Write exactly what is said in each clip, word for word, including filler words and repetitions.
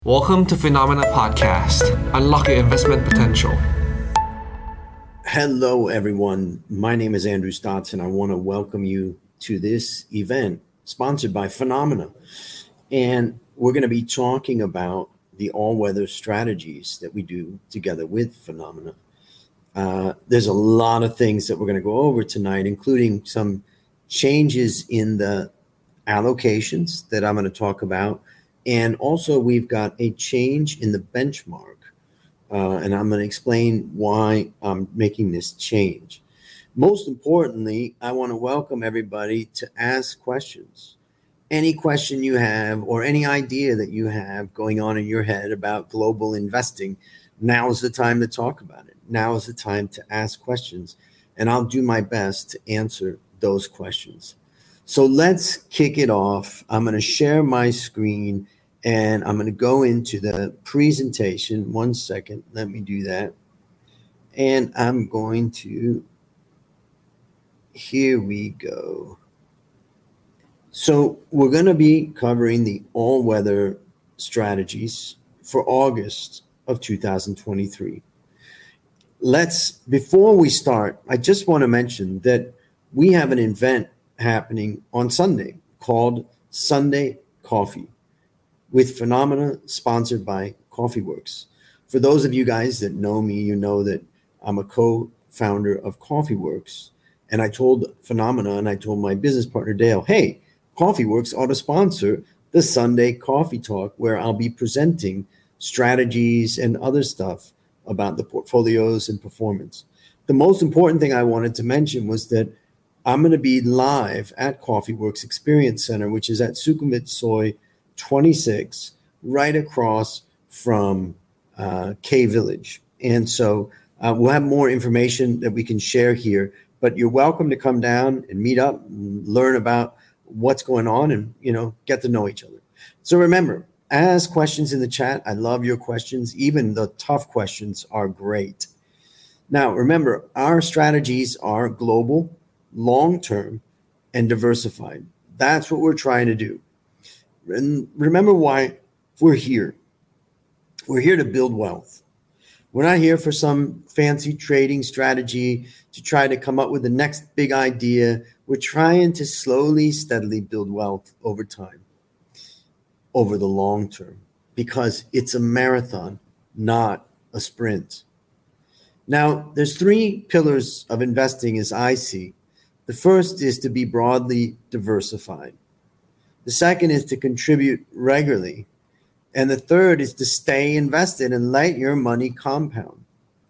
Welcome to Phenomena Podcast. Unlock your investment potential. Hello, everyone. My name is Andrew Stotts, and I want to welcome you to this event sponsored by Phenomena. And we're going to be talking about the all-weather strategies that we do together with Phenomena. Uh, there's a lot of things that we're going to go over tonight, including some changes in the allocations that I'm going to talk about. And also, we've got a change in the benchmark, uh, and I'm going to explain why I'm making this change. Most importantly, I want to welcome everybody to ask questions. Any question you have or any idea that you have going on in your head about global investing, now is the time to talk about it. Now is the time to ask questions, and I'll do my best to answer those questions. So let's kick it off. I'm going to share my screen and I'm going to go into the presentation. One second. Let me do that. And I'm going to, here we go. So we're going to be covering the all-weather strategies for August of two thousand twenty-three. Let's, before we start, I just want to mention that we have an event happening on Sunday called Sunday Coffee with Phenomena, sponsored by CoffeeWorks. For those of you guys that know me, you know that I'm a co-founder of CoffeeWorks, and I told Phenomena and I told my business partner Dale, hey, CoffeeWorks ought to sponsor the Sunday Coffee Talk, where I'll be presenting strategies and other stuff about the portfolios and performance. The most important thing I wanted to mention was that I'm going to be live at CoffeeWorks Experience Center, which is at Sukhumvit Soy twenty-six, right across from uh, K Village. And so uh, we'll have more information that we can share here, but you're welcome to come down and meet up and learn about what's going on and, you know, get to know each other. So remember, ask questions in the chat. I love your questions. Even the tough questions are great. Now, remember, our strategies are global, long-term, and diversified. That's what we're trying to do. And remember why we're here. We're here to build wealth. We're not here for some fancy trading strategy to try to come up with the next big idea. We're trying to slowly, steadily build wealth over time, over the long term, because it's a marathon, not a sprint. Now, there's three pillars of investing as I see. The first is to be broadly diversified. The second is to contribute regularly. And the third is to stay invested and let your money compound.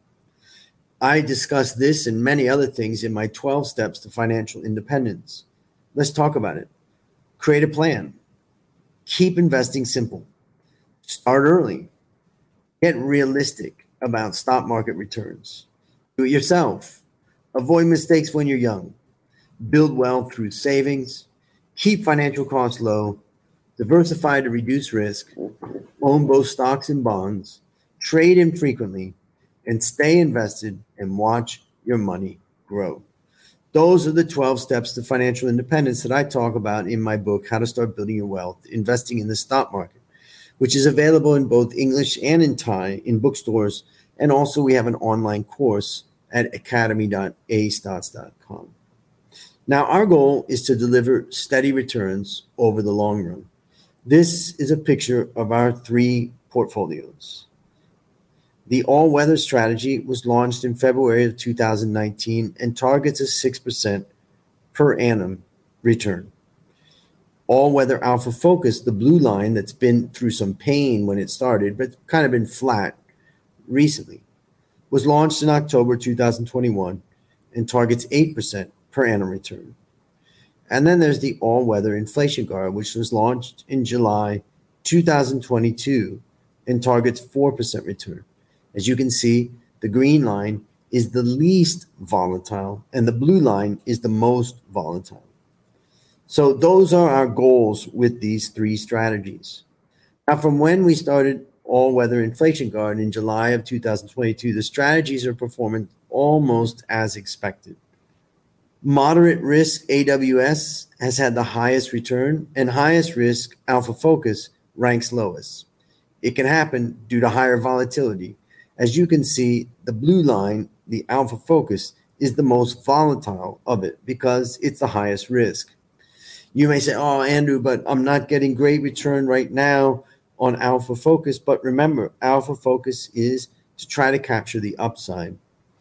I discuss this and many other things in my twelve steps to financial independence. Let's talk about it. Create a plan. Keep investing simple. Start early. Get realistic about stock market returns. Do it yourself. Avoid mistakes when you're young. Build wealth through savings. Keep financial costs low. Diversify to reduce risk. Own both stocks and bonds. Trade infrequently. And stay invested and watch your money grow. Those are the twelve steps to financial independence that I talk about in my book, How to Start Building Your Wealth, Investing in the Stock Market, which is available in both English and in Thai in bookstores. And also we have an online course at academy dot a stotts dot com. Now, our goal is to deliver steady returns over the long run. This is a picture of our three portfolios. The all-weather strategy was launched in February of two thousand nineteen and targets a six percent per annum return. All-weather Alpha Focus, the blue line that's been through some pain when it started, but kind of been flat recently, was launched in October two thousand twenty-one and targets eight percent per annum return. And then there's the all-weather Inflation Guard, which was launched in July two thousand twenty-two and targets four percent return. As you can see, the green line is the least volatile and the blue line is the most volatile. So those are our goals with these three strategies. Now, from when we started all-weather Inflation Guard in July of two thousand twenty-two, the strategies are performing almost as expected. Moderate risk A W S has had the highest return, and highest risk Alpha Focus ranks lowest. It can happen due to higher volatility. As you can see, the blue line, the Alpha Focus, is the most volatile of it because it's the highest risk. You may say, oh, Andrew, but I'm not getting great return right now on Alpha Focus. But remember, Alpha Focus is to try to capture the upside.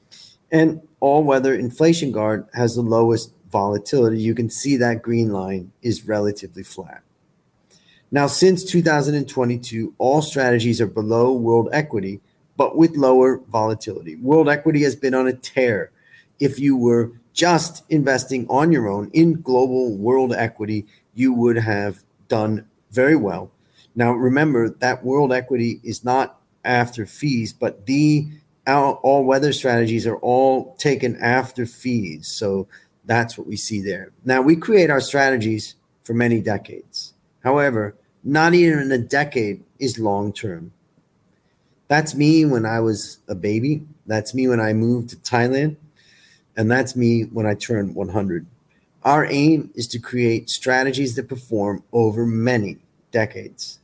And All Weather Inflation Guard has the lowest volatility. You can see that green line is relatively flat. Now, since two thousand twenty-two, all strategies are below world equity, but with lower volatility. World equity has been on a tear. If you were just investing on your own in global world equity, you would have done very well. Now, remember that world equity is not after fees, but the all weather strategies are all taken after fees. So that's what we see there. Now, we create our strategies for many decades. However, not even a decade is long term. That's me when I was a baby. That's me when I moved to Thailand. And that's me when I turned one hundred. Our aim is to create strategies that perform over many decades.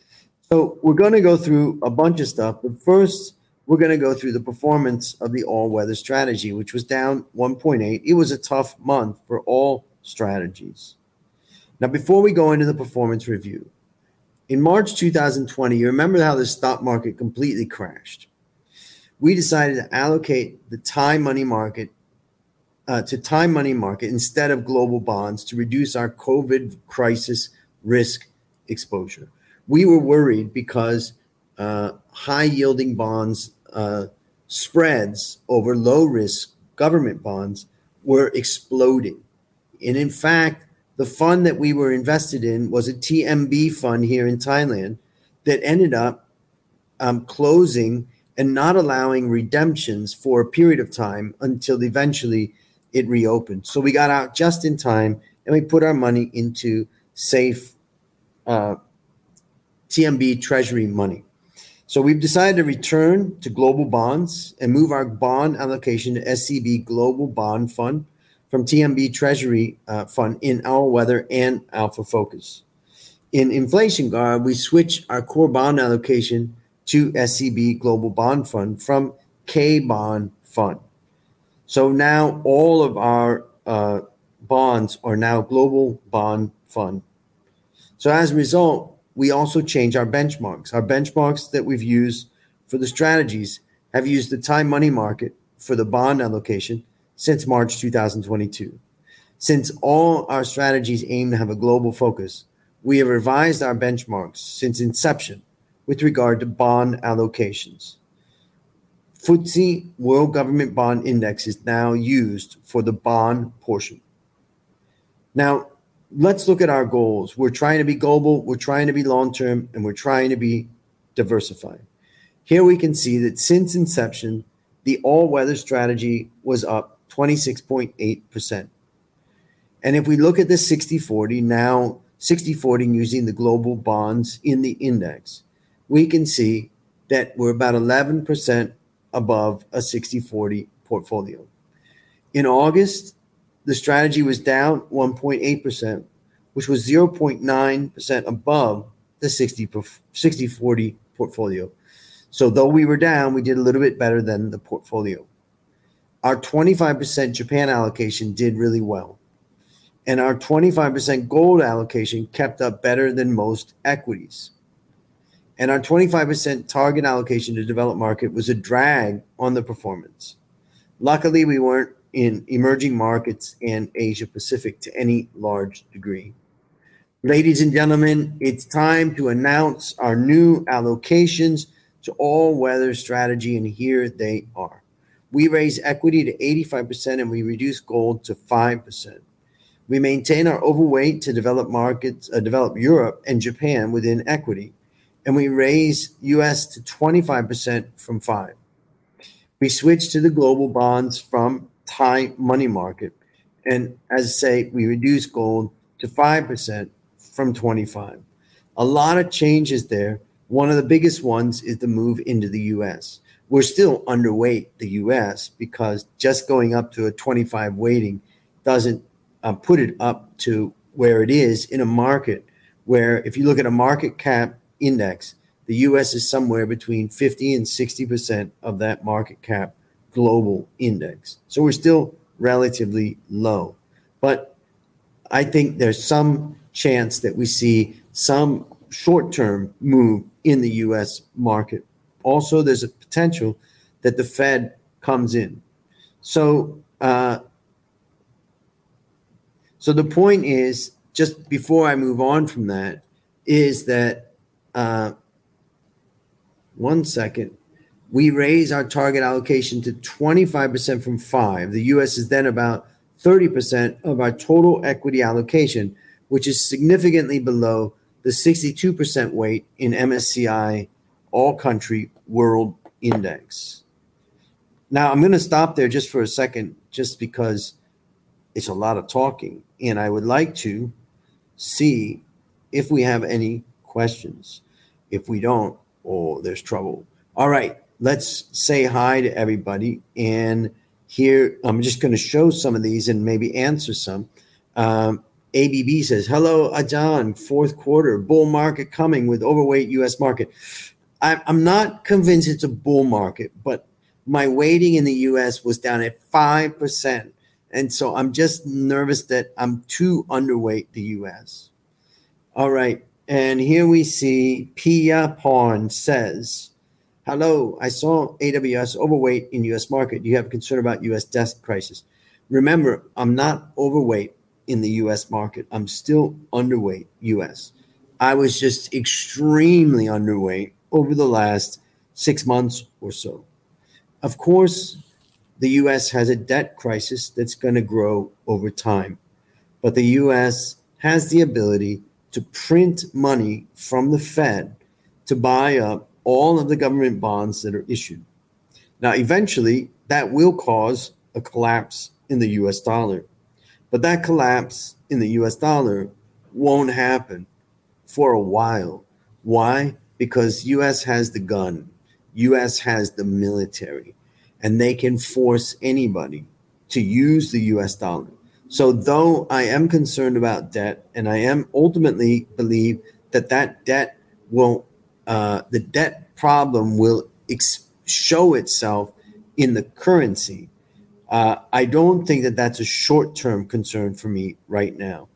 So we're going to go through a bunch of stuff, but first we're going to go through the performance of the all-weather strategy, which was down one point eight. It was a tough month for all strategies. Now, before we go into the performance review, in March two thousand twenty, you remember how the stock market completely crashed. We decided to allocate the Thai money market uh, to Thai money market instead of global bonds to reduce our COVID crisis risk exposure. We were worried because uh, high-yielding bonds uh, spreads over low-risk government bonds were exploding. And in fact, the fund that we were invested in was a T M B fund here in Thailand that ended up um, closing and not allowing redemptions for a period of time until eventually it reopened. So we got out just in time and we put our money into safe uh, T M B treasury money. So we've decided to return to global bonds and move our bond allocation to S C B Global Bond Fund from T M B Treasury uh, Fund in All Weather and Alpha Focus. In Inflation Guard, we switch our core bond allocation to S C B Global Bond Fund from K Bond Fund. So now all of our uh, bonds are now Global Bond Fund. So as a result, we also change our benchmarks. Our benchmarks that we've used for the strategies have used the Thai money market for the bond allocation since March two thousand twenty-two. Since all our strategies aim to have a global focus, we have revised our benchmarks since inception with regard to bond allocations. F T S E World Government Bond Index is now used for the bond portion. Now, let's look at our goals. We're trying to be global, we're trying to be long-term, and we're trying to be diversified. Here we can see that since inception, the all-weather strategy was up twenty-six point eight percent. And if we look at the sixty forty, now sixty forty using the global bonds in the index, we can see that we're about eleven percent above a sixty forty portfolio. In August, the strategy was down one point eight percent, which was zero point nine percent above the sixty forty portfolio. So though we were down, we did a little bit better than the portfolio. Our twenty-five percent Japan allocation did really well. And our twenty-five percent gold allocation kept up better than most equities. And our twenty-five percent target allocation to developed market was a drag on the performance. Luckily, we weren't in emerging markets and Asia Pacific to any large degree. Ladies and gentlemen, it's time to announce our new allocations to all-weather strategy, and here they are. We raise equity to eighty-five percent and we reduce gold to five percent. We maintain our overweight to developed markets, uh, developed Europe and Japan within equity, and we raise U S to twenty-five percent from five. We switch to the global bonds from Thai money market, and as I say, we reduce gold to five percent from twenty-five. A lot of changes there. One of the biggest ones is the move into the U S. We're still underweight the U S because just going up to a twenty-five weighting doesn't uh, put it up to where it is in a market where if you look at a market cap index, The U S is somewhere between fifty and sixty percent of that market cap global index. So we're still relatively low. But I think there's some chance that we see some short-term move in the U S market. Also, there's a potential that the Fed comes in. So, uh, so the point is, just before I move on from that, is that uh, one second, we raise our target allocation to twenty-five percent from five. The U S is then about thirty percent of our total equity allocation, which is significantly below the sixty-two percent weight in M S C I All Country World Index. Now, I'm going to stop there just for a second, just because it's a lot of talking, and I would like to see if we have any questions. If we don't, oh, there's trouble. All right, let's say hi to everybody. And here, I'm just going to show some of these and maybe answer some. Um, A B B says, hello, Ajahn, fourth quarter, bull market coming with overweight U S market. I, I'm not convinced it's a bull market, but my weighting in the U S was down at five percent. And so I'm just nervous that I'm too underweight the U S. All right. And here we see Pia Pawn says, hello, I saw A W S overweight in U S market. Do you have concern about U S debt crisis? Remember, I'm not overweight in the U S market. I'm still underweight U S. I was just extremely underweight over the last six months or so. Of course, the U S has a debt crisis that's going to grow over time. But the U S has the ability to print money from the Fed to buy up all of the government bonds that are issued. Now, eventually, that will cause a collapse in the U S dollar. But that collapse in the U S dollar won't happen for a while. Why? Because U S has the gun. U S has the military. And they can force anybody to use the U S dollar. So though I am concerned about debt, and I am ultimately believe that that debt will, uh, the debt problem will ex- show itself in the currency, uh, I don't think that that's a short-term concern for me right now.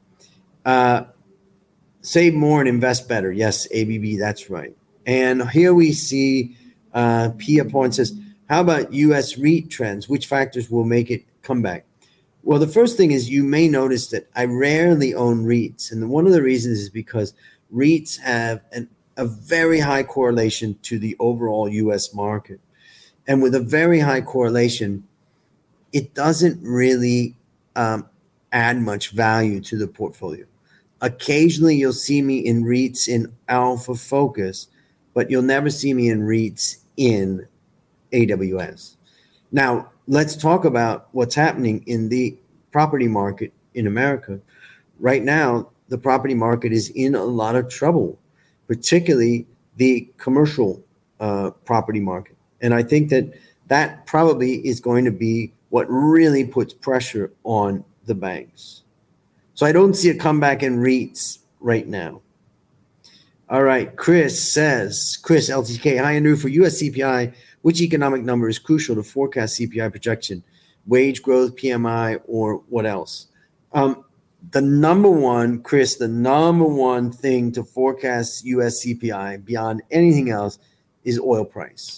Uh, save more and invest better. Yes, A B B, that's right. And here we see uh, Pia Point says, how about U S REIT trends? Which factors will make it come back? Well, the first thing is you may notice that I rarely own REITs. And one of the reasons is because REITs have an, a very high correlation to the overall U S market. And with a very high correlation, it doesn't really um, add much value to the portfolio. Occasionally, you'll see me in REITs in Alpha Focus, but you'll never see me in REITs in A W S. Now, let's talk about what's happening in the property market in America. Right now, the property market is in a lot of trouble, particularly the commercial uh, property market. And I think that that probably is going to be what really puts pressure on the banks. So I don't see a comeback in REITs right now. All right, Chris says, Chris, L T K, hi, Andrew, for U S C P I, which economic number is crucial to forecast C P I projection? Wage growth, P M I, or what else? Um, the number one, Chris, the number one thing to forecast U S C P I beyond anything else is oil price.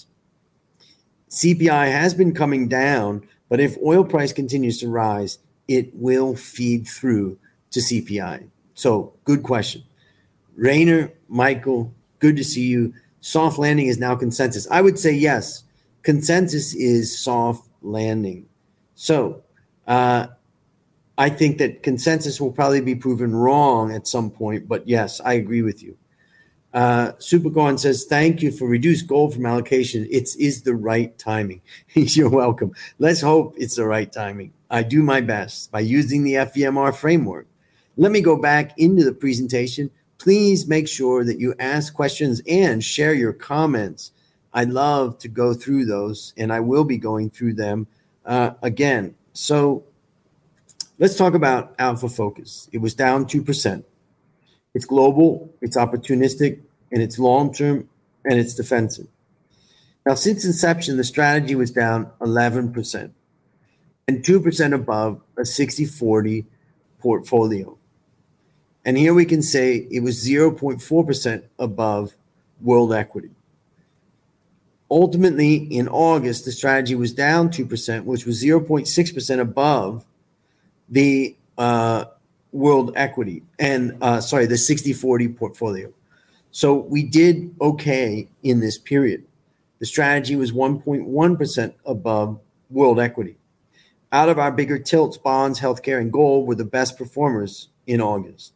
C P I has been coming down, but if oil price continues to rise, it will feed through to C P I. So good question. Rainer, Michael, good to see you. Soft landing is now consensus. I would say yes. Consensus is soft landing. So uh, I think that consensus will probably be proven wrong at some point. But yes, I agree with you. Uh, Supergone says, thank you for reduced gold from allocation. It is the right timing. You're welcome. Let's hope it's the right timing. I do my best by using the F E M R framework. Let me go back into the presentation. Please make sure that you ask questions and share your comments. I love to go through those, and I will be going through them uh, again. So let's talk about Alpha Focus. It was down two percent. It's global. It's opportunistic. and it's long-term, and it's defensive. Now, since inception, the strategy was down eleven percent and two percent above a sixty forty portfolio. And here we can say it was zero point four percent above world equity. Ultimately, in August, the strategy was down two percent, which was zero point six percent above the uh, world equity and, uh, sorry, the sixty forty portfolio. So we did okay in this period. The strategy was one point one percent above world equity. Out of our bigger tilts, bonds, healthcare, and gold were the best performers in August.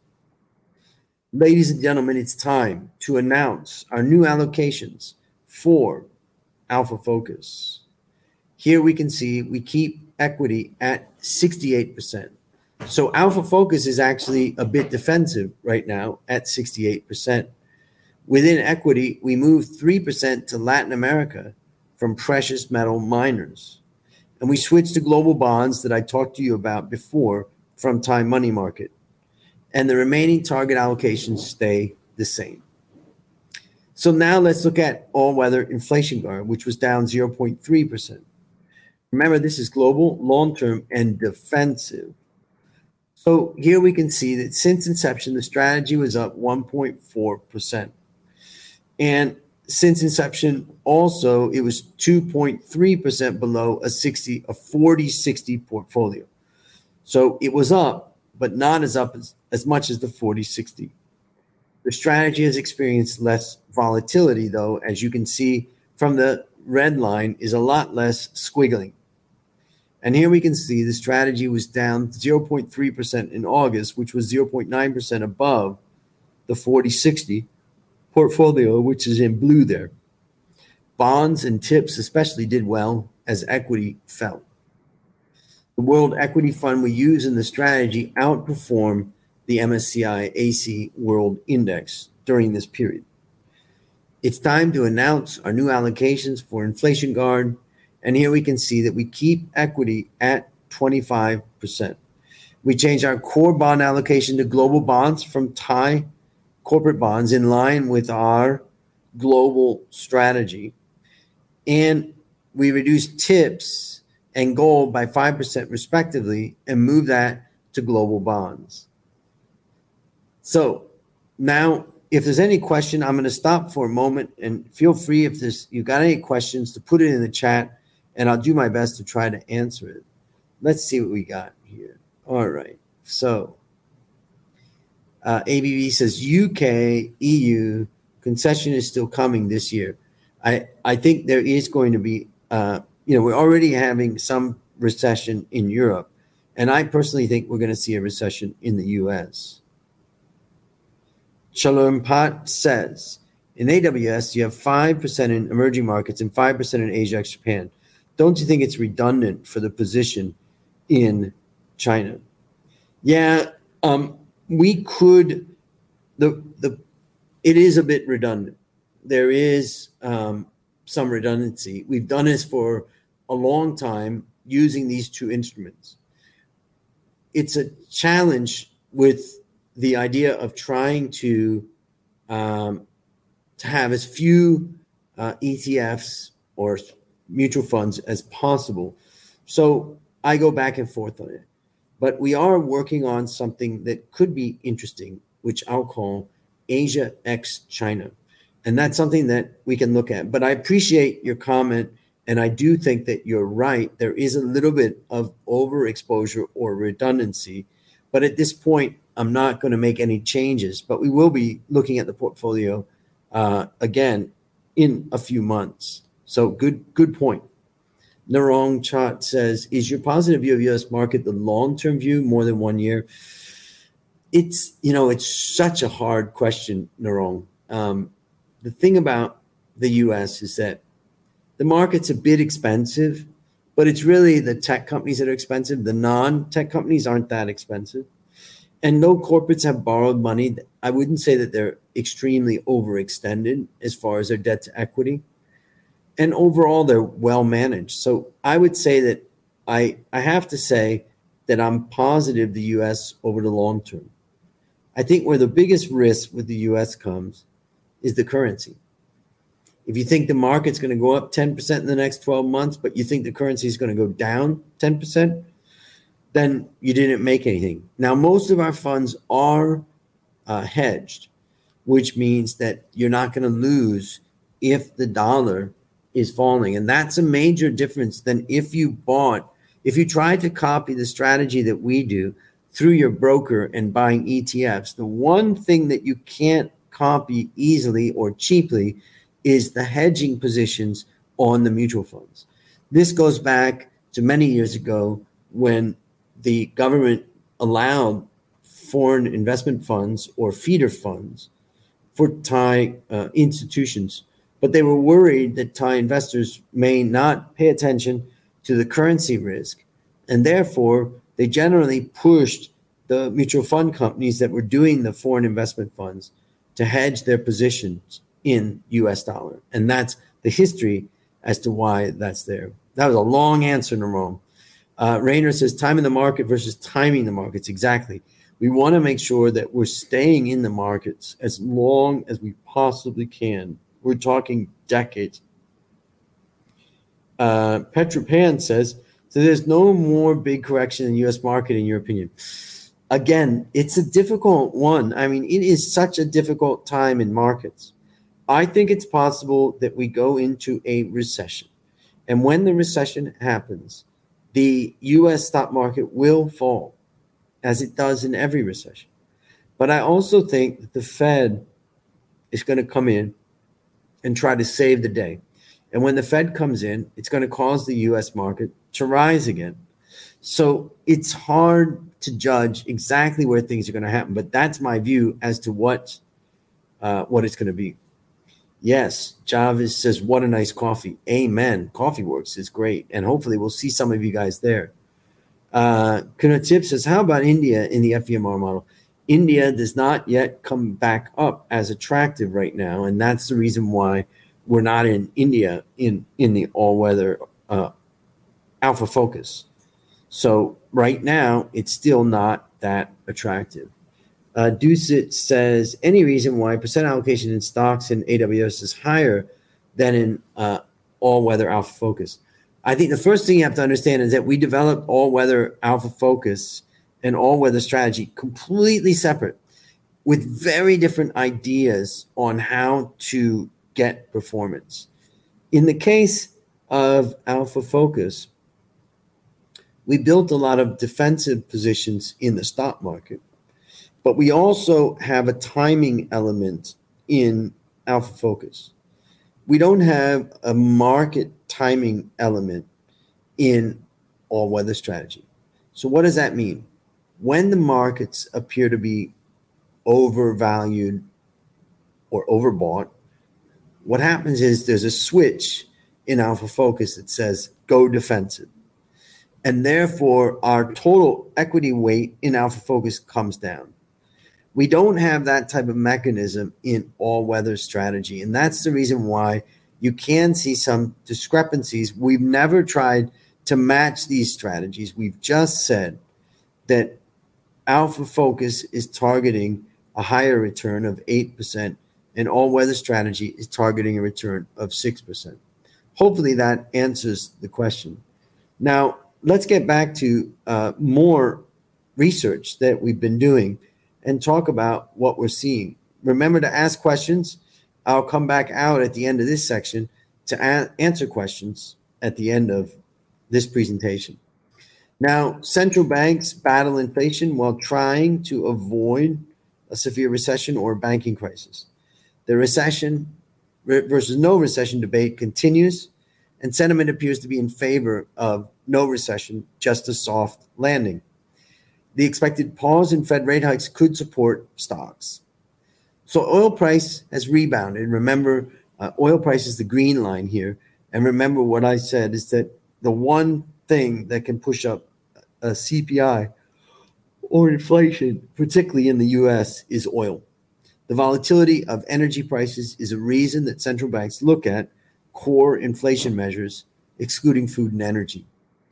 Ladies and gentlemen, it's time to announce our new allocations for Alpha Focus. Here we can see we keep equity at sixty-eight percent. So Alpha Focus is actually a bit defensive right now at sixty-eight percent. Within equity, we moved three percent to Latin America from precious metal miners. And we switched to global bonds that I talked to you about before from Time Money Market. And the remaining target allocations stay the same. So now let's look at all-weather inflation guard, which was down zero point three percent. Remember, this is global, long-term, and defensive. So here we can see that since inception, the strategy was up one point four percent. And since inception, also, it was two point three percent below a sixty, a forty sixty portfolio. So it was up, but not as up as, as much as the forty sixty. The strategy has experienced less volatility, though, as you can see from the red line, is a lot less squiggling. And here we can see the strategy was down zero point three percent in August, which was zero point nine percent above the forty sixty portfolio, which is in blue there. Bonds and tips especially did well as equity fell. The World Equity Fund we use in the strategy outperformed the M S C I A C World Index during this period. It's time to announce our new allocations for Inflation Guard, and here we can see that we keep equity at twenty-five percent. We changed our core bond allocation to global bonds from Thai corporate bonds in line with our global strategy. And we reduced tips and gold by five percent respectively and moved that to global bonds. So now, if there's any question, I'm going to stop for a moment, and feel free if there's you got any questions to put it in the chat, and I'll do my best to try to answer it. Let's see what we got here. All right. So uh, A B B says U K, E U, concession is still coming this year. I, I think there is going to be, uh, you know, we're already having some recession in Europe, and I personally think we're going to see a recession in the U S. Shalom Pat says, in A W S, you have five percent in emerging markets and five percent in Asia ex Japan. Don't you think it's redundant for the position in China? Yeah, um, we could, the the it is a bit redundant. There is um, some redundancy. We've done this for a long time using these two instruments. It's a challenge with the idea of trying to um, to have as few uh, E T Fs or mutual funds as possible. So I go back and forth on it. But we are working on something that could be interesting, which I'll call Asia ex China. And that's something that we can look at. But I appreciate your comment, and I do think that you're right. There is a little bit of overexposure or redundancy. But at this point, I'm not going to make any changes. But we will be looking at the portfolio uh, again in a few months. So good, good point. Narong Chat says, is your positive view of U S market the long-term view, more than one year? It's, you know, it's such a hard question, Narong. Um, the thing about the U S is that the market's a bit expensive, but it's really the tech companies that are expensive. The non-tech companies aren't that expensive. And no corporates have borrowed money. I wouldn't say that they're extremely overextended as far as their debt to equity. And overall, they're well managed. So I would say that I I have to say that I'm positive the U S over the long term. I think where the biggest risk with the U S comes is the currency. If you think the market's going to go up ten percent in the next twelve months, but you think the currency is going to go down ten percent, then you didn't make anything. Now, most of our funds are uh, hedged, which means that you're not going to lose if the dollar is falling. And that's a major difference than if you bought, if you tried to copy the strategy that we do through your broker and buying E T Fs. The one thing that you can't copy easily or cheaply is the hedging positions on the mutual funds. This goes back to many years ago when the government allowed foreign investment funds or feeder funds for Thai uh, institutions, but they were worried that Thai investors may not pay attention to the currency risk, and therefore they generally pushed the mutual fund companies that were doing the foreign investment funds to hedge their positions in U S dollar. And that's the history as to why that's there. That was a long answer, Narom. Uh, Rayner says time in the market versus timing the markets. Exactly. We want to make sure that we're staying in the markets as long as we possibly can. We're talking decades. Uh, Petra Pan says, so there's no more big correction in the U S market in your opinion. Again, it's a difficult one. I mean, it is such a difficult time in markets. I think it's possible that we go into a recession. And when the recession happens, the U S stock market will fall, as it does in every recession. But I also think that the Fed is going to come in and try to save the day. And when the Fed comes in, it's going to cause the U S market to rise again. So it's hard to judge exactly where things are going to happen. But that's my view as to what, uh, what it's going to be. Yes, Jarvis says, what a nice coffee. Amen. Coffee Works is great. And hopefully we'll see some of you guys there. Uh, Kunatip says, how about India in the F E M R model? India does not yet come back up as attractive right now. And that's the reason why we're not in India in, in the all-weather uh, alpha focus. So right now, it's still not that attractive. Uh, Ducit says, any reason why percent allocation in stocks in A W S is higher than in uh, all-weather alpha focus? I think the first thing you have to understand is that we developed all-weather alpha focus and all-weather strategy completely separate with very different ideas on how to get performance. In the case of alpha focus, we built a lot of defensive positions in the stock market. But we also have a timing element in alpha focus. We don't have a market timing element in all-weather strategy. So what does that mean? When the markets appear to be overvalued or overbought, what happens is there's a switch in alpha focus that says go defensive. And therefore, our total equity weight in alpha focus comes down. We don't have that type of mechanism in all-weather strategy. And that's the reason why you can see some discrepancies. We've never tried to match these strategies. We've just said that alpha focus is targeting a higher return of eight percent and all-weather strategy is targeting a return of six percent. Hopefully that answers the question. Now, let's get back to uh, more research that we've been doing and talk about what we're seeing. Remember to ask questions. I'll come back out at the end of this section to a- answer questions at the end of this presentation. Now, central banks battle inflation while trying to avoid a severe recession or banking crisis. The recession versus no recession debate continues, and sentiment appears to be in favor of no recession, just a soft landing. The expected pause in Fed rate hikes could support stocks. So oil price has rebounded. Remember, uh, oil price is the green line here. And remember what I said is that the one thing that can push up a C P I or inflation, particularly in the U S, is oil. The volatility of energy prices is a reason that central banks look at core inflation measures, excluding food and energy.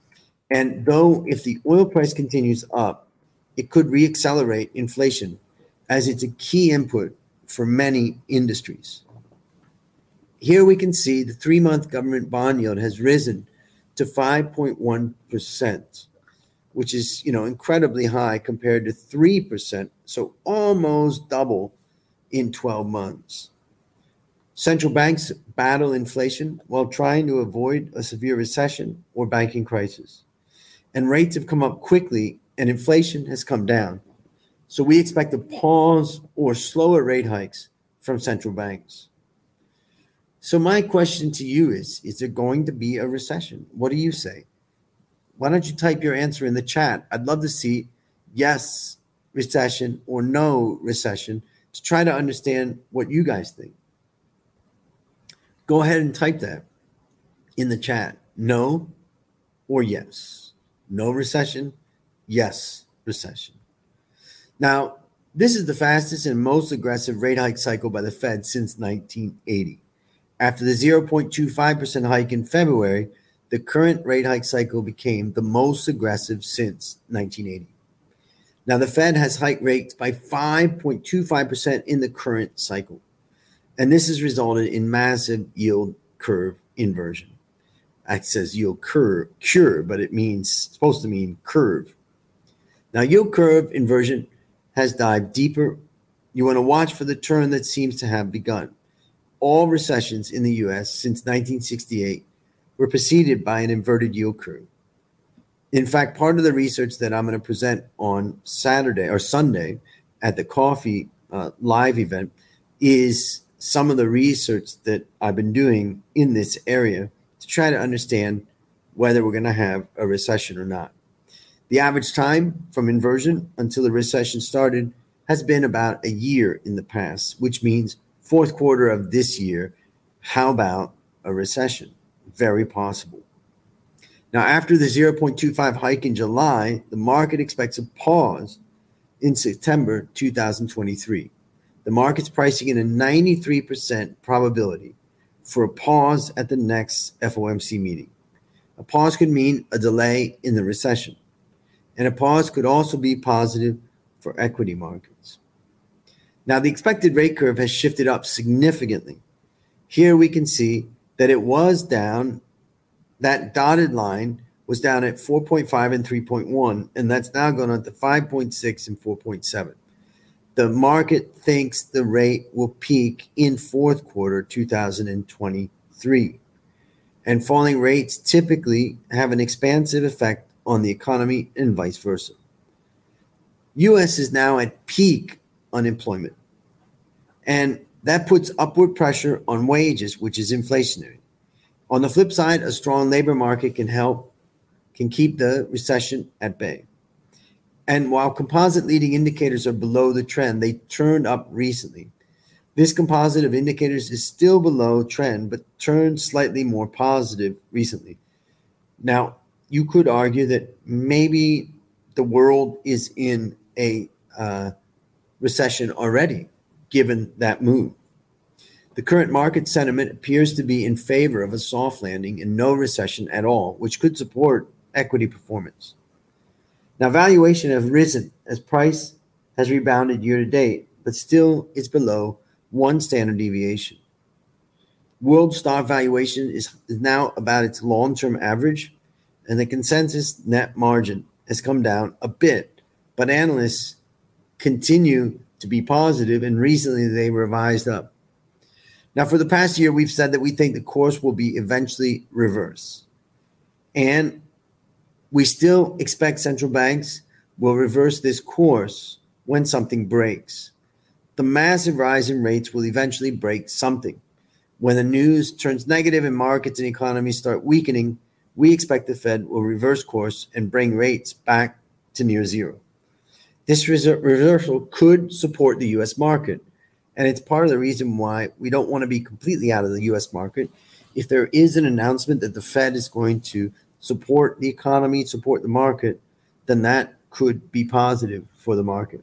And though if the oil price continues up, it could reaccelerate inflation as it's a key input for many industries. Here we can see the three-month government bond yield has risen to five point one percent, which is, you know, incredibly high compared to three percent, so almost double in twelve months. Central banks battle inflation while trying to avoid a severe recession or banking crisis. And rates have come up quickly and inflation has come down. So we expect a pause or slower rate hikes from central banks. So my question to you is, is there going to be a recession? What do you say? Why don't you type your answer in the chat? I'd love to see yes, recession or no recession to try to understand what you guys think. Go ahead and type that in the chat. No or yes. No recession, yes recession. Now, this is the fastest and most aggressive rate hike cycle by the Fed since nineteen eighty. After the zero point two five percent hike in February, the current rate hike cycle became the most aggressive since nineteen eighty. Now, the Fed has hiked rates by five point two five percent in the current cycle, and this has resulted in massive yield curve inversion. It says yield curve, cure, but it means supposed to mean curve. Now, yield curve inversion has dived deeper. You want to watch for the turn that seems to have begun. All recessions in the U S since nineteen sixty-eight were preceded by an inverted yield curve. In fact, part of the research that I'm going to present on Saturday or Sunday at the Coffee uh, live event is some of the research that I've been doing in this area to try to understand whether we're going to have a recession or not. The average time from inversion until the recession started has been about a year in the past, which means fourth quarter of this year. How about a recession? Very possible. Now, after the zero point two five hike in July, the market expects a pause in September two thousand twenty-three. The market's pricing in a ninety-three percent probability for a pause at the next F O M C meeting. A pause could mean a delay in the recession, and a pause could also be positive for equity markets. Now, the expected rate curve has shifted up significantly. Here we can see that it was down. That dotted line was down at four point five and three point one, and that's now gone up to five point six and four point seven. The market thinks the rate will peak in fourth quarter two thousand twenty-three. And falling rates typically have an expansive effect on the economy and vice versa. U S is now at peak unemployment, and that puts upward pressure on wages, which is inflationary. On the flip side, a strong labor market can help, can keep the recession at bay. And while composite leading indicators are below the trend, they turned up recently. This composite of indicators is still below trend, but turned slightly more positive recently. Now, you could argue that maybe the world is in a uh, recession already, given that move. The current market sentiment appears to be in favor of a soft landing and no recession at all, which could support equity performance. Now, valuation has risen as price has rebounded year to date, but still is below one standard deviation. World stock valuation is, is now about its long-term average, and the consensus net margin has come down a bit, but analysts continue to be positive, and recently they revised up. Now, for the past year, we've said that we think the course will be eventually reversed. And we still expect central banks will reverse this course when something breaks. The massive rise in rates will eventually break something. When the news turns negative and markets and economies start weakening, we expect the Fed will reverse course and bring rates back to near zero. This reversal could support the U S market. And it's part of the reason why we don't want to be completely out of the U S market. If there is an announcement that the Fed is going to support the economy, support the market, then that could be positive for the market.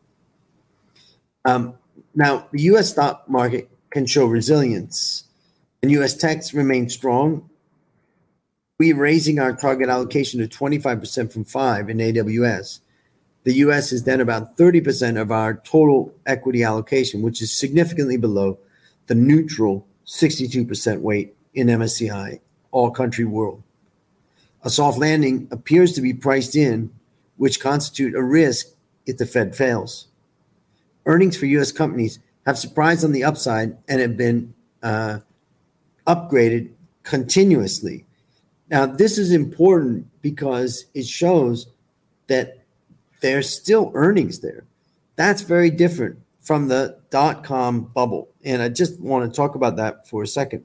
Um, now, the U S stock market can show resilience, and U S techs remain strong. We're raising our target allocation to twenty-five percent from five in A W S. The U S is then about thirty percent of our total equity allocation, which is significantly below the neutral sixty-two percent weight in M S C I all country world. A soft landing appears to be priced in, which constitute a risk if the Fed fails. Earnings for U S companies have surprised on the upside and have been uh, upgraded continuously. Now, this is important because it shows that there's still earnings there. That's very different from the dot-com bubble. And I just want to talk about that for a second.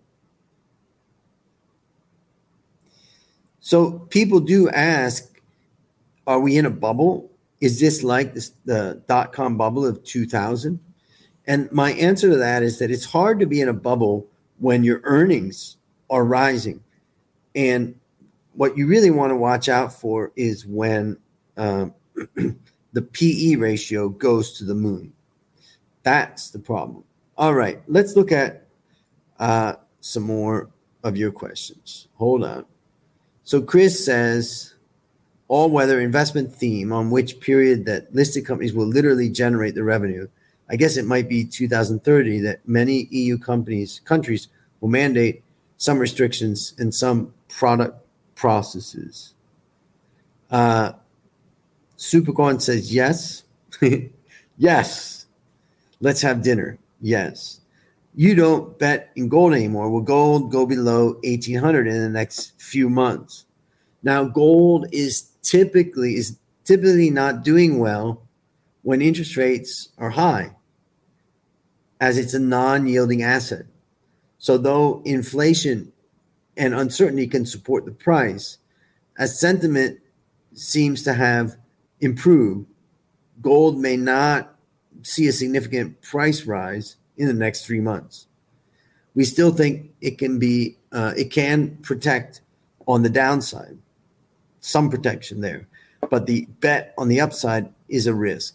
So people do ask, are we in a bubble? Is this like this, the dot-com bubble of two thousand? And my answer to that is that it's hard to be in a bubble when your earnings are rising. And what you really want to watch out for is when um, the P E ratio goes to the moon. That's the problem. All right, let's look at uh, some more of your questions. Hold on. So Chris says, all-weather investment theme on which period that listed companies will literally generate the revenue. I guess it might be two thousand thirty that many E U companies, countries will mandate some restrictions and some product processes. Uh, Supercorn says yes. Yes. Let's have dinner. Yes. You don't bet in gold anymore. Will gold go below eighteen hundred in the next few months? Now, gold is typically is typically not doing well when interest rates are high, as it's a non-yielding asset. So though inflation and uncertainty can support the price, as sentiment seems to have improved, gold may not see a significant price rise in the next three months. We still think it can be, uh, it can protect on the downside, some protection there, but the bet on the upside is a risk.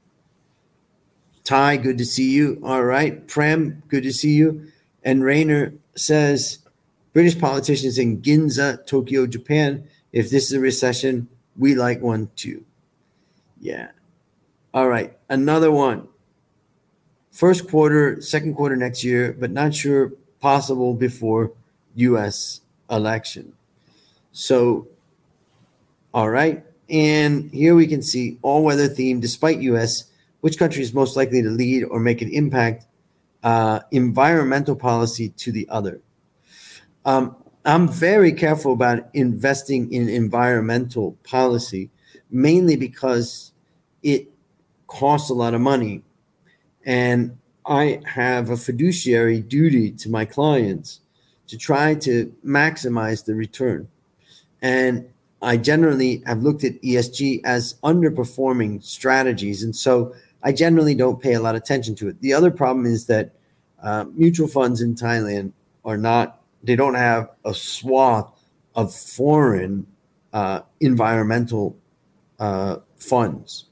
Ty, good to see you. All right. Prem, good to see you. And Rayner says, British politicians in Ginza, Tokyo, Japan. If this is a recession, we like one too. Yeah. All right. Another one. First quarter, second quarter next year, but not sure possible before U S election. So, all right. And here we can see all-weather theme despite U S. Which country is most likely to lead or make an impact? Uh, environmental policy to the other. Um, I'm very careful about investing in environmental policy, mainly because it costs a lot of money. And I have a fiduciary duty to my clients to try to maximize the return. And I generally have looked at E S G as underperforming strategies. And so I generally don't pay a lot of attention to it. The other problem is that uh, mutual funds in Thailand are not, they don't have a swath of foreign uh, environmental uh, funds.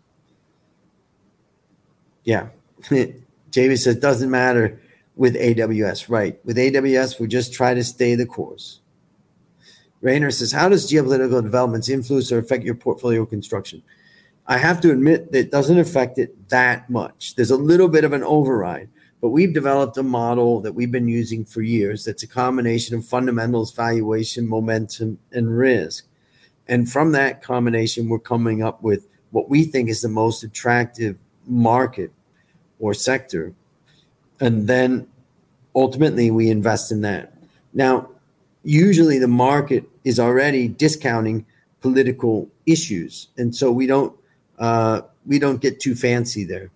Yeah. Jamie says, doesn't matter with A W S. Right. With A W S, we just try to stay the course. Rayner says, how does geopolitical developments influence or affect your portfolio construction? I have to admit that it doesn't affect it that much. There's a little bit of an override, but we've developed a model that we've been using for years that's a combination of fundamentals, valuation, momentum, and risk. And from that combination, we're coming up with what we think is the most attractive market or sector. And then ultimately we invest in that. Now, usually the market is already discounting political issues. And so we don't uh, we don't get too fancy there.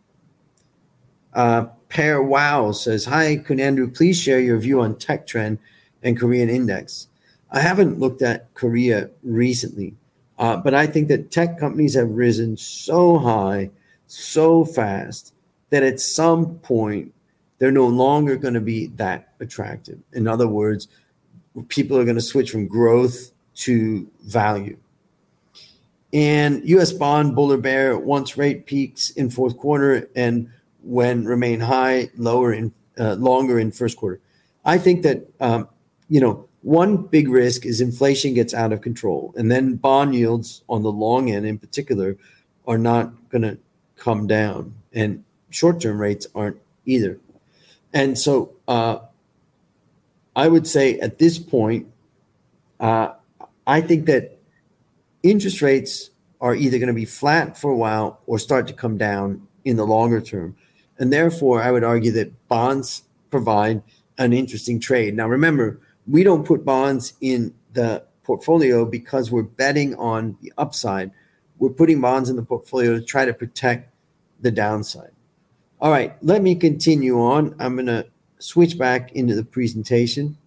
Uh, Pear Wow says, hi, Kunandru, please share your view on tech trend and Korean index. I haven't looked at Korea recently, uh, but I think that tech companies have risen so high, so fast, that at some point they're no longer going to be that attractive. In other words, people are going to switch from growth to value. And U S bond bull or bear once rate peaks in fourth quarter and when remain high, lower in uh, longer in first quarter. I think that um, you know one big risk is inflation gets out of control, and then bond yields on the long end in particular are not going to come down, and short-term rates aren't either. And so uh, I would say at this point, uh, I think that interest rates are either going to be flat for a while or start to come down in the longer term. And therefore, I would argue that bonds provide an interesting trade. Now, remember, we don't put bonds in the portfolio because we're betting on the upside. We're putting bonds in the portfolio to try to protect the downside. All right, let me continue on. I'm going to switch back into the presentation.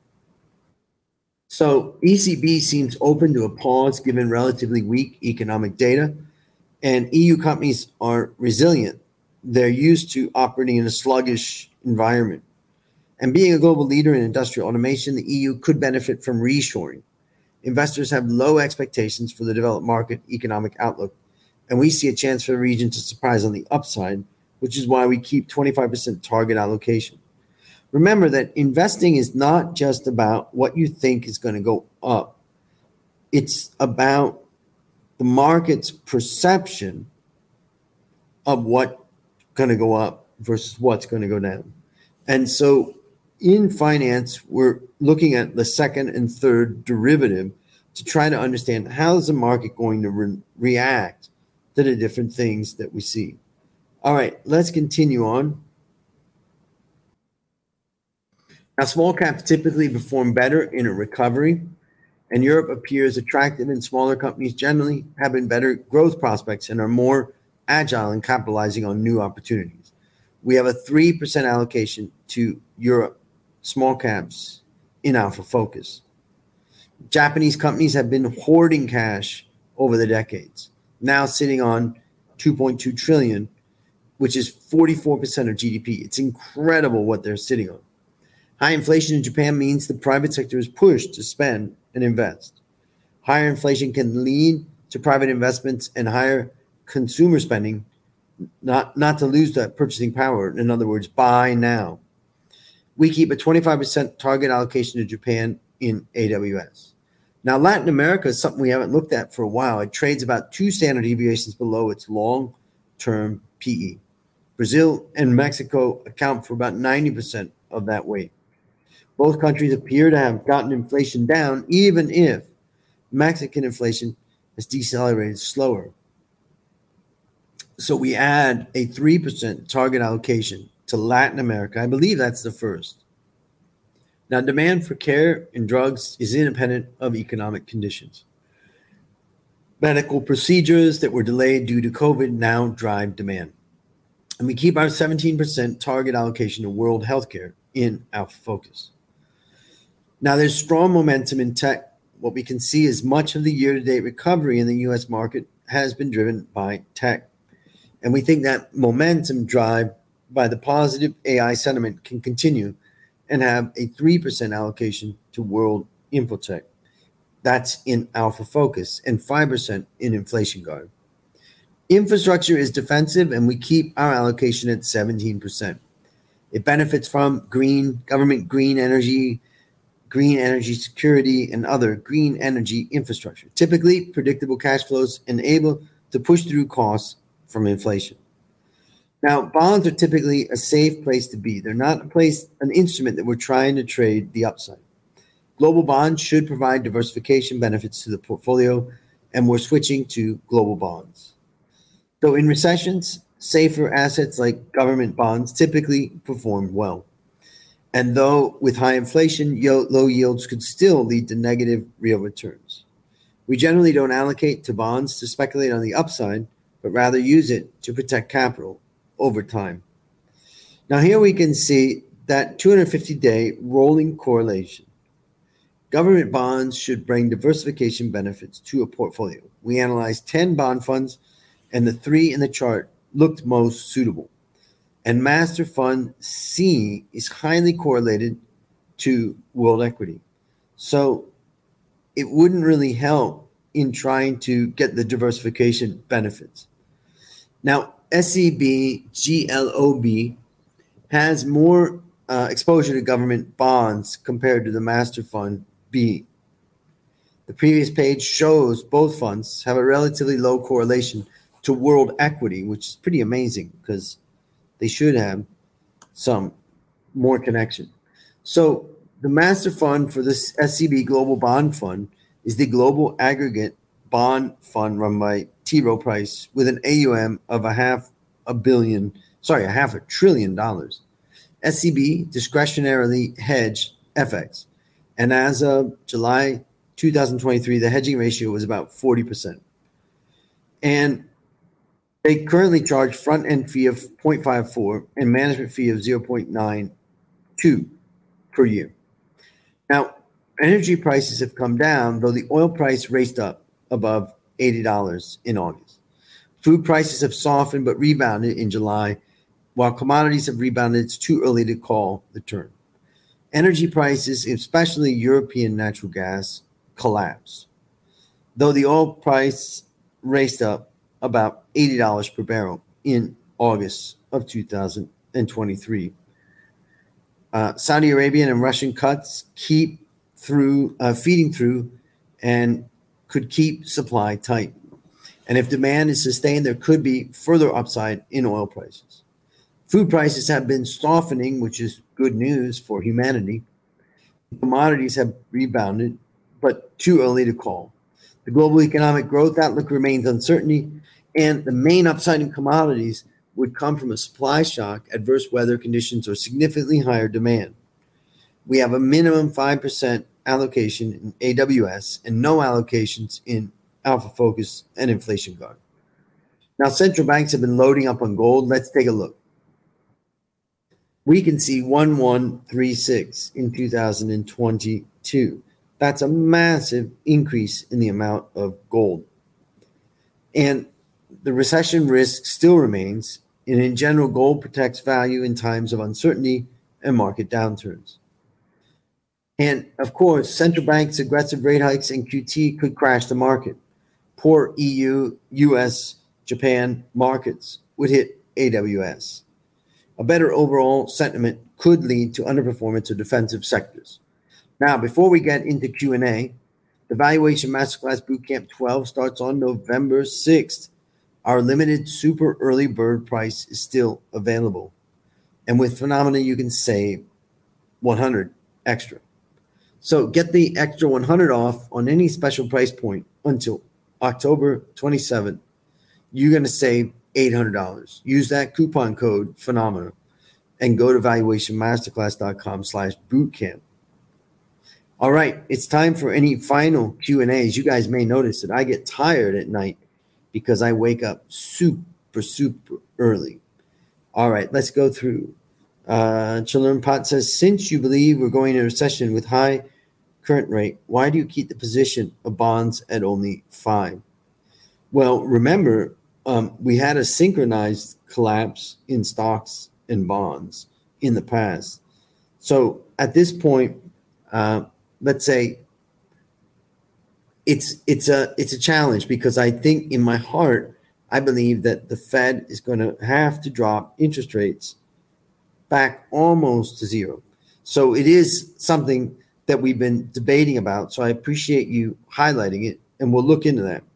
So E C B seems open to a pause given relatively weak economic data, and E U companies are resilient. They're used to operating in a sluggish environment. And being a global leader in industrial automation, the E U could benefit from reshoring. Investors have low expectations for the developed market economic outlook, and we see a chance for the region to surprise on the upside, which is why we keep twenty-five percent target allocation. Remember that investing is not just about what you think is going to go up. It's about the market's perception of what's going to go up versus what's going to go down. And so in finance, we're looking at the second and third derivative to try to understand how is the market going to re- react to the different things that we see. All right, let's continue on. Now, small caps typically perform better in a recovery, and Europe appears attractive, and smaller companies generally have been better growth prospects and are more agile in capitalizing on new opportunities. We have a three percent allocation to Europe small caps in Alpha Focus. Japanese companies have been hoarding cash over the decades, now sitting on two point two trillion dollars, which is forty-four percent of G D P. It's incredible what they're sitting on. High inflation in Japan means the private sector is pushed to spend and invest. Higher inflation can lead to private investments and higher consumer spending, not, not to lose that purchasing power. In other words, buy now. We keep a twenty-five percent target allocation to Japan in A W S. Now, Latin America is something we haven't looked at for a while. It trades about two standard deviations below its long-term P E. Brazil and Mexico account for about ninety percent of that weight. Both countries appear to have gotten inflation down, even if Mexican inflation has decelerated slower. So we add a three percent target allocation to Latin America. I believe that's the first. Now, demand for care and drugs is independent of economic conditions. Medical procedures that were delayed due to COVID now drive demand. And we keep our seventeen percent target allocation to world healthcare in Alpha Focus. Now, there's strong momentum in tech. What we can see is much of the year-to-date recovery in the U S market has been driven by tech. And we think that momentum drive by the positive A I sentiment can continue and have a three percent allocation to world infotech. That's in Alpha Focus, and five percent in Inflation Guard. Infrastructure is defensive, and we keep our allocation at seventeen percent. It benefits from green government, green energy, green energy security, and other green energy infrastructure. Typically, predictable cash flows and able to push through costs from inflation. Now, bonds are typically a safe place to be. They're not a place, an instrument that we're trying to trade the upside. Global bonds should provide diversification benefits to the portfolio, and we're switching to global bonds. So in recessions, safer assets like government bonds typically perform well. And though with high inflation, low yields could still lead to negative real returns. We generally don't allocate to bonds to speculate on the upside, but rather use it to protect capital over time. Now here we can see that two hundred fifty day rolling correlation. Government bonds should bring diversification benefits to a portfolio. We analyzed ten bond funds, and the three in the chart looked most suitable. And Master Fund C is highly correlated to world equity. So it wouldn't really help in trying to get the diversification benefits. Now, S E B G L O B has more uh, exposure to government bonds compared to the Master Fund B. The previous page shows both funds have a relatively low correlation to world equity, which is pretty amazing because they should have some more connection. So the master fund for this S C B Global Bond Fund is the global aggregate bond fund run by T. Rowe Price with an A U M of a half a billion, sorry, a half a trillion dollars. S C B discretionarily hedged F X. And as of July twenty twenty-three, the hedging ratio was about forty percent. And they currently charge front-end fee of zero point five four and management fee of zero point nine two per year. Now, energy prices have come down, though the oil price raced up above eighty dollars in August. Food prices have softened but rebounded in July. While commodities have rebounded, it's too early to call the turn. Energy prices, especially European natural gas, collapsed, though the oil price raced up about eighty dollars per barrel in August of two thousand twenty-three. Uh, Saudi Arabian and Russian cuts keep through uh, feeding through and could keep supply tight. And if demand is sustained, there could be further upside in oil prices. Food prices have been softening, which is good news for humanity. Commodities have rebounded, but too early to call. The global economic growth outlook remains uncertainty, and the main upside in commodities would come from a supply shock, adverse weather conditions, or significantly higher demand. We have a minimum five percent allocation in A W S and no allocations in Alpha Focus and Inflation Guard. Now, central banks have been loading up on gold. Let's take a look. We can see one one three six in two thousand twenty-two. That's a massive increase in the amount of gold. And the recession risk still remains. And in general, gold protects value in times of uncertainty and market downturns. And of course, central banks' aggressive rate hikes and Q T could crash the market. Poor E U, U S, Japan markets would hit A W S. A better overall sentiment could lead to underperformance of defensive sectors. Now, before we get into Q and A, the Valuation Masterclass Bootcamp twelve starts on November sixth. Our limited super early bird price is still available. And with Phenomena, you can save one hundred extra. So get the extra one hundred off on any special price point until October twenty-seventh. You're going to save eight hundred dollars. Use that coupon code Phenomena and go to valuationmasterclass.com slash bootcamp. All right, it's time for any final Q and A's. You guys may notice that I get tired at night because I wake up super, super early. All right, let's go through. Uh, Children Pot says, since you believe we're going into a recession with high current rate, why do you keep the position of bonds at only five? Well, remember, um, we had a synchronized collapse in stocks and bonds in the past. So at this point, uh, let's say it's it's a it's a challenge because I think in my heart, I believe that the Fed is going to have to drop interest rates back almost to zero. So it is something that we've been debating about. So I appreciate you highlighting it, and we'll look into that.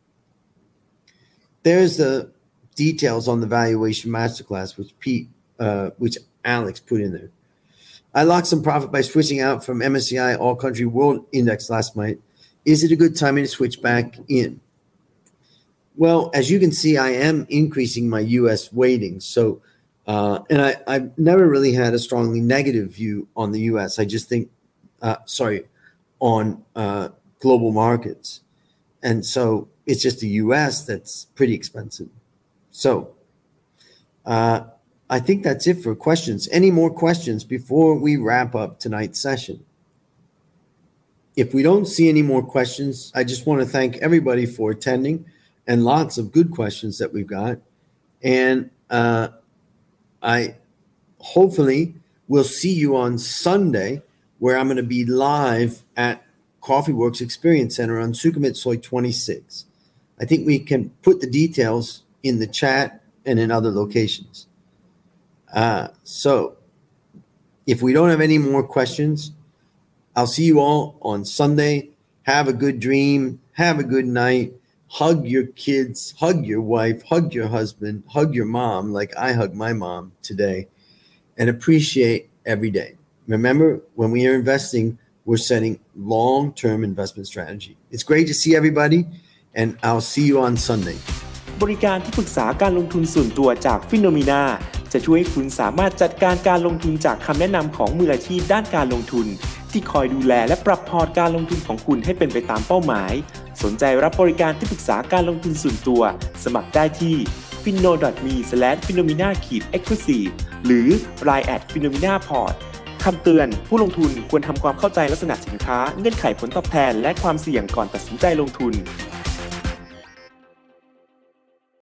There's the details on the Valuation Masterclass, which Pete, uh, which Alex put in there. I locked some profit by switching out from M S C I All Country World Index last night. Is it a good timing to switch back in? Well, as you can see, I am increasing my U S weighting. So, uh, and I, I've never really had a strongly negative view on the U S. I just think, uh, sorry, on uh, global markets. And so it's just the U S that's pretty expensive. So uh, I think that's it for questions. Any more questions before we wrap up tonight's session? If we don't see any more questions, I just want to thank everybody for attending and lots of good questions that we've got. And uh, I hopefully will see you on Sunday, where I'm going to be live at Coffee Works Experience Center on Sukhumvit twenty-six. I think we can put the details in the chat and in other locations. Uh, so if we don't have any more questions, I'll see you all on Sunday. Have a good dream. Have a good night. hug your kids, hug your wife, hug your husband, hug your mom like I hug my mom today, and appreciate every day. Remember, when we are investing, we're setting long-term investment strategy. It's great to see everybody, and I'll see you on Sunday. บริการที่ปรึกษาการลงทุนส่วนตัวจาก Phenomena จะช่วยให้คุณสามารถจัดการการลงทุนจากคำแนะนำของมืออาชีพด้านการลงทุนที่คอยดูแลและปรับพอร์ตการลงทุนของคุณให้เป็นไปตามเป้าหมายสนใจรับบริการที่ปรึกษาการลงทุนส่วนตัวสมัครได้ที่ ฟินโน ดอท มี สแลช ฟีโนมีนา เอ็กซ์คลูซีฟ หรือ ไลน์ แอท ฟีโนมีนา พอร์ต คำเตือนผู้ลงทุนควรทำความเข้าใจลักษณะสินค้าเงื่อนไขผลตอบแทนและความเสี่ยงก่อนตัดสินใจลงทุน